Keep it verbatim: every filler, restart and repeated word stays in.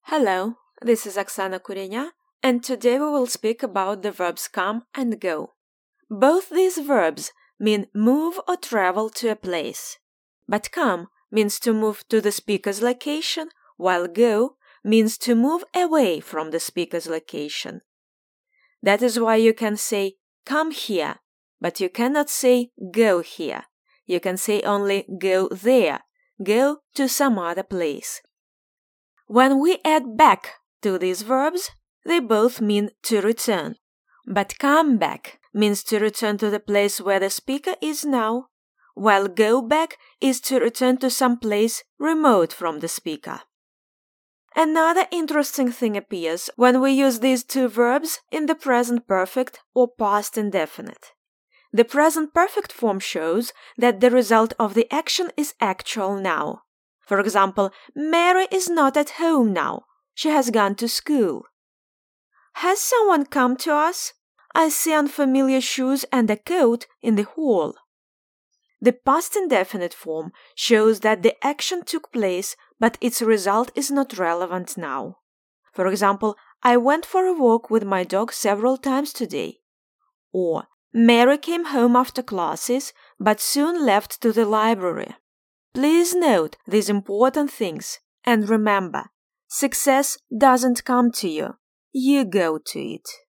Hello, this is Oksana Kurenya, and today we will speak about the verbs come and go. Both these verbs mean move or travel to a place. But come means to move to the speaker's location, while go means to move away from the speaker's location. That is why you can say come here, but you cannot say go here. You can say only go there, go to some other place. When we add back to these verbs, they both mean to return. But come back means to return to the place where the speaker is now, while go back is to return to some place remote from the speaker. Another interesting thing appears when we use these two verbs in the present perfect or past indefinite. The present perfect form shows that the result of the action is actual now. For example, Mary is not at home now. She has gone to school. Has someone come to us? I see unfamiliar shoes and a coat in the hall. The past indefinite form shows that the action took place, but its result is not relevant now. For example, I went for a walk with my dog several times today. Or, Mary came home after classes, but soon left to the library. Please note these important things and remember, success doesn't come to you, you go to it.